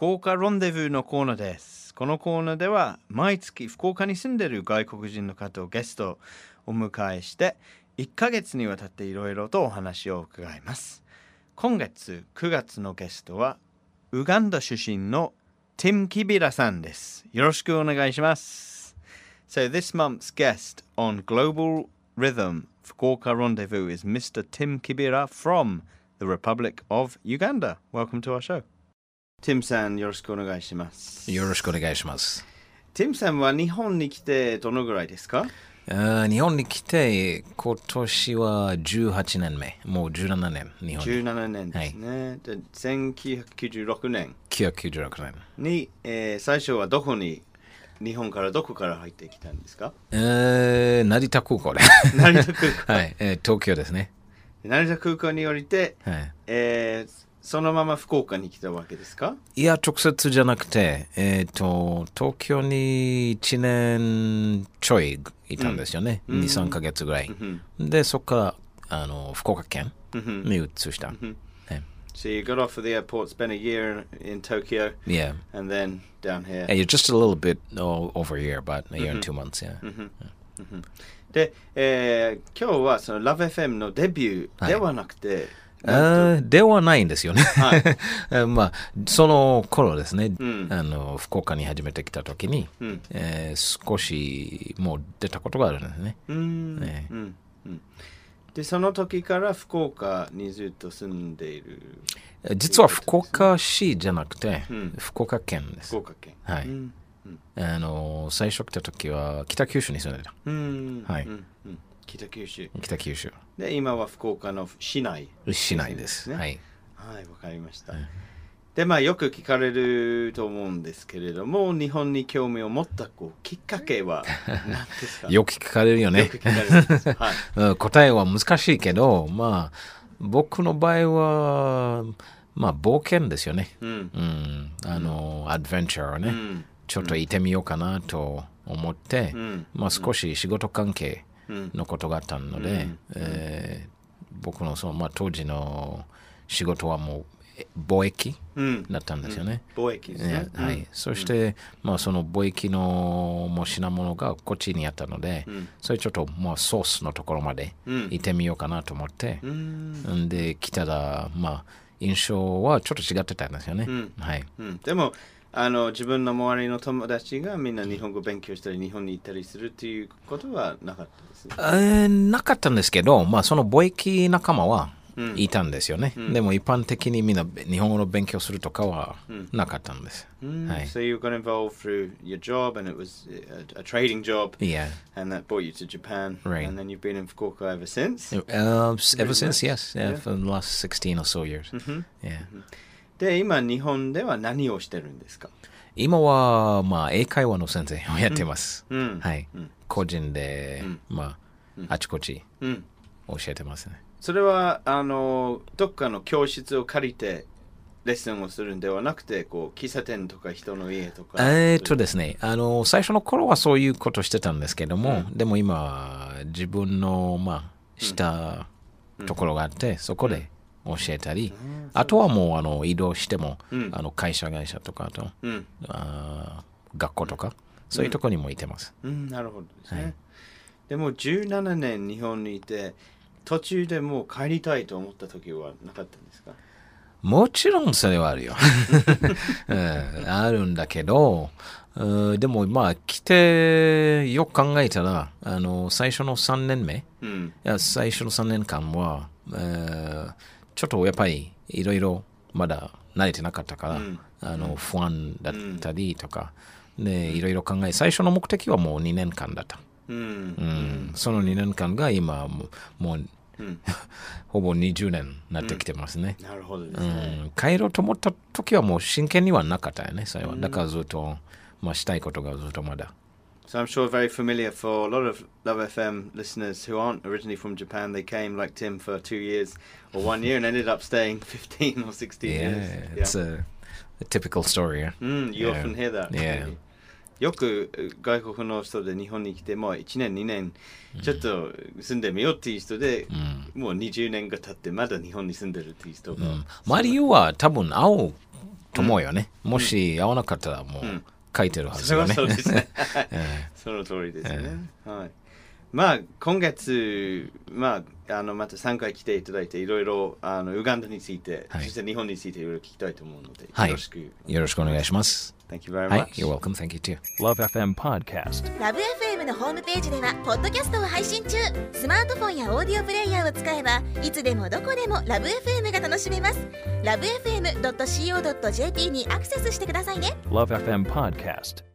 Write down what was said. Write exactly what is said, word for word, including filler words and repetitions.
福岡ロンデブーのコーナーです。このコーナーでは毎月福岡に住んでいる外国人の方をゲストをお迎えしていっかげつにわたっていろいろとお話を伺います。今月くがつのゲストはウガンダ出身のティム・キビラさんです。よろしくお願いします。So this month's guest on Global Rhythm Fukuoka Rendezvous is Mister Tim Kibira from the Republic of Uganda. Welcome to our show. Tim さん、よろしくお願いします。 よろしくお願いします。 Tim さんは日本に来てどのぐらいですか？ あ日本に来て今年はじゅうはちねんめ、もうじゅうななねん日本に。 じゅうななねんですね。はい、でせんきゅうひゃくきゅうじゅうろくねん。 きゅうひゃくきゅうじゅうろくねんに、えー、最初はどこに日本からどこから入ってきたんですか？ えー、成田空港で。 成田空港。 はい、えー、東京ですね。 成田空港に降りて、はいえー、そのまま福岡に来たわけですか？ いや、直接じゃなくて、えーと、東京にいちねんちょいいたんですよね。うん、に、さんかげつぐらい。うん、で、そこからあの福岡県に移した。うん So you got off at the airport, spent a year in Tokyo, yeah, and then down here. Yeah, you're just a little bit oh, over a year, about a year and two months, yeah. で、えー、今日はその ラブエフエム のデビューではなくて、 はい、ではないんですよね。はい、まあその頃ですね、うん、あの福岡に初めて来た時に、うんえー、少しもう出たことがあるんですね。うんねうんうんで、その時から福岡にずっと住んでいる。 実は福岡市じゃなくて、うん、福岡県です。 福岡県。 はい。うんうん、あの最初来た時は北九州に住んでた。 うんはい、うんうん。北九州。 北九州。 で、今は福岡の市内、 ね。市内です。はい。 はい、わかりました。うんでまあ、よく聞かれると思うんですけれども、日本に興味を持ったこうきっかけは何ですか？ よく聞かれるよね。 よく聞かれるんです、 はい、答えは難しいけど、まあ、僕の場合は、まあ、冒険ですよね。うんうん、あの、うん、アドベンチャーをね、うん、ちょっと行ってみようかなと思って、うんまあ、少し仕事関係のことがあったので、うんえー、僕のその、まあ、当時の仕事はもう貿易だったんですよね。 うん、貿易ですね。 はい。うん、そして、まあその貿易のもう品物がこっちにあったので、うん、それちょっとまあソースのところまで行ってみようかなと思って、うん、で来たらまあ印象はちょっと違ってたんですよね。うん、はい。 うん、でもあの自分の周りの友達がみんな日本語勉強したり日本に行ったりするっていうことはなかったですね。 えー、なかったんですけど、まあその貿易仲間はいたんですよね、うん、でも一般的にみんな日本語の勉強するとかはなかったんです、 うんはい、So you got involved through your job and it was a, a trading job yeah. and that brought you to Japan right. and then you've been in Fukuoka ever since? Uh, ever since, yes, yeah, yeah. for the last sixteen or so years、 mm-hmm. yeah. で、今日本では何をしてるんですか？ 今は、まあ、英会話の先生をやってます、うんはい、うん、個人で、うんまあ、うん、あちこち教えてますね。 それはあのどっかの教室を借りてレッスンをするんではなくてこう喫茶店とか人の家とかえー、っとですねあの最初の頃はそういうことしてたんですけども、うん、でも今自分のまあしたところがあって、うん、そこで教えたり、うん、あとはもうあの移動しても、うん、あの会社会社とかと、うん、あ学校とか、うん、そういうところにもいてます、 うんうん、なるほどですね、はい、でもじゅうななねん日本にいて途中でもう帰りたいと思った時はなかったんですか？ もちろんそれはあるよ、うん、あるんだけど、うん、でもまあ来てよく考えたらあの最初のさんねんめ、うん、いや最初のさんねんかんは、えー、ちょっとやっぱりいろいろまだ慣れてなかったから、うん、あの不安だったりとか、うん、でいろいろ考え最初の目的はもうにねんかんだった。うんうん、そのにねんかんが今もう、もううん、ほぼにじゅうねんになってきてますね、 うん、なるほどですね、 うん、帰ろうと思った時はもう真剣にはなかったよねそれは、うん、だからずっと、まあ、したいことがずっとまだ So I'm sure very familiar for a lot of Love エフエム listeners who aren't originally from Japan. They came like Tim for two years or one year and ended up staying fifteen or sixteen yeah, years. Yeah, it's a, a typical story. Yeah? Mm, you yeah. often hear that. Yeah. よく外国の人で日本に来てもういちねんにねんちょっと住んでみようっていう人で、うん、もうにじゅうねんが経ってまだ日本に住んでるっていう人が、うん、 まあ理由は多分青と思うよね。もし合わなかったらもう書いてるはずよね。 そうですね。その通りですね。はい。まあ今月、まあ、あのまたさんかい来ていただいていろいろあのウガンダについて、はい、そして日本についていろいろ聞きたいと思うので、はい、よろしくよろしくお願いします。 Thank you very much. はい、You're welcome. Thank you too. Love エフエム Podcast。 ラブ エフエム のホームページではポッドキャストを配信中。スマートフォンやオーディオプレイヤーを使えばいつでもどこでもラブ エフエム が楽しめます。ラブエフエムドットシーオードットジェーピー にアクセスしてくださいね。 Love エフエム Podcast。